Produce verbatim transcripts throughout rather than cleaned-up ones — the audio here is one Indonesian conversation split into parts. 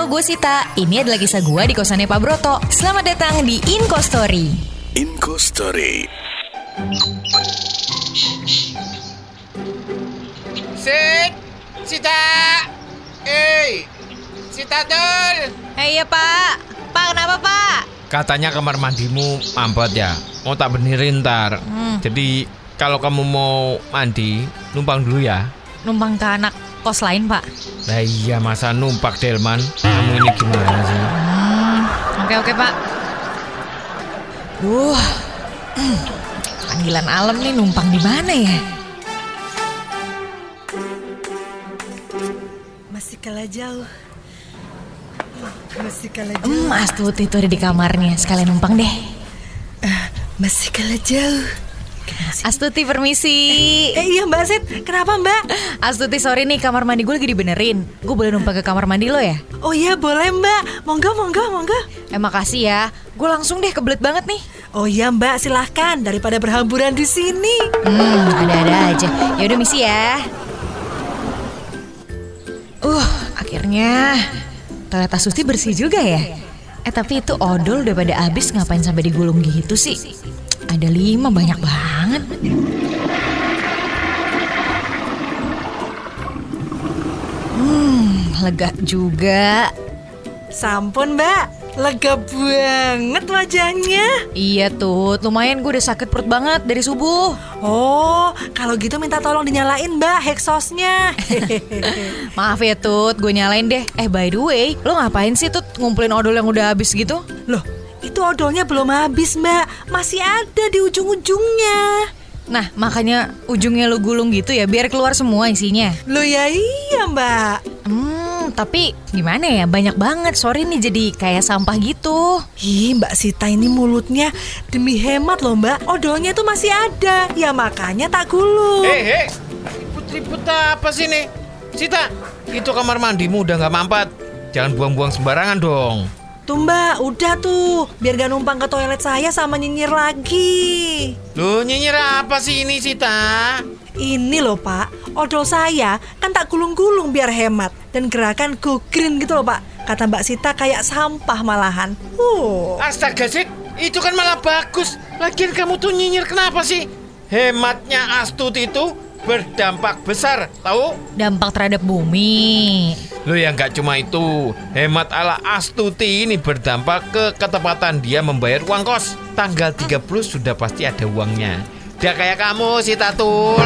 gue Sita. Ini adalah kisah gue di kosannya Pak Broto. Selamat datang di Inko Story. Inko Story. Sit, Sita. Eh, Sita Dul. Eh iya Pak. Pak kenapa Pak? Katanya kamar mandimu mampet ya. Mau tak benerin ntar. Hmm. Jadi kalau kamu mau mandi, numpang dulu ya. Numpang ke anak kos lain Pak. Nah iya, masa numpak Delman. Kamu ini gimana sih? Hmm, oke oke Pak. Duh, hmm, panggilan alam nih, numpang di mana ya? Masih kalah jauh. Masih kalah jauh. Hmm, Astuti itu ada di kamarnya. Sekalian numpang deh. Uh, masih kalah jauh. Astuti permisi. Eh, eh iya Mbak Sit, kenapa Mbak? Astuti sorry nih, kamar mandi gue lagi dibenerin. Gue boleh numpang ke kamar mandi lo ya? Oh iya boleh Mbak, monggo monggo monggo. Eh makasih ya, gue langsung deh, kebelet banget nih. Oh iya Mbak, silahkan daripada berhamburan di sini. Hmm, ada-ada aja. Ya udah misi ya. Uh, akhirnya toilet Astuti bersih juga ya. Eh tapi itu odol udah pada habis, ngapain sampai digulung gitu sih? Ada lima, banyak banget. Hmm, lega juga. Sampun Mbak, lega banget wajahnya. Iya tuh, lumayan gue udah sakit perut banget dari subuh. Oh, kalau gitu minta tolong dinyalain Mbak heksosnya. Maaf ya Tut, gue nyalain deh. Eh by the way, lo ngapain sih Tut ngumpulin odol yang udah habis gitu? Loh, itu odolnya belum habis Mbak, masih ada di ujung-ujungnya. Nah makanya ujungnya lo gulung gitu ya, biar keluar semua isinya. Loh ya iya Mbak. Hmm, tapi gimana ya, banyak banget. Sorry nih jadi kayak sampah gitu. Ih Mbak Sita ini mulutnya, demi hemat loh Mbak, odolnya tuh masih ada. Ya makanya tak gulung. Hei hei, ribut-ribut apa sih nih? Sita, itu kamar mandimu udah gak mampet. Jangan buang-buang sembarangan dong. Tuh Mbak, udah tuh, biar gak numpang ke toilet saya sama nyinyir lagi. Loh, nyinyir apa sih ini Sita? Ini loh Pak, odol saya kan tak gulung-gulung biar hemat. Dan gerakan go green gitu loh Pak. Kata Mbak Sita kayak sampah malahan. uh. Astaga Sit, itu kan malah bagus. Lagian kamu tuh nyinyir kenapa sih? Hematnya Astuti itu berdampak besar, tahu? Dampak terhadap bumi. Loh ya nggak cuma itu, hemat ala Astuti ini berdampak ke ketepatan dia membayar uang kos. Tanggal tiga puluh sudah pasti ada uangnya. Dia kayak kamu Sita Tul.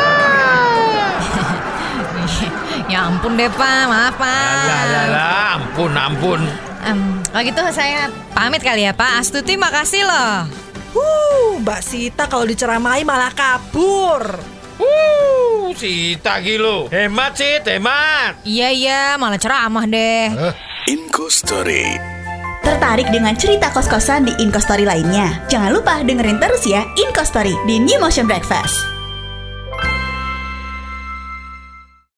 Ya ampun deh Pak, maaf Pak. Alah, ampun, ampun. um, Kalau gitu saya pamit kali ya Pak. Astuti makasih loh. Uh, Mbak Sita kalau diceramai malah kabur. Uh, Sita gilo. Hemat sih, hemat. Iya iya, malah ceramah deh. uh. Inko Story. Tertarik dengan cerita kos-kosan di Inko Story lainnya? Jangan lupa dengerin terus ya Inko Story di New Motion Breakfast.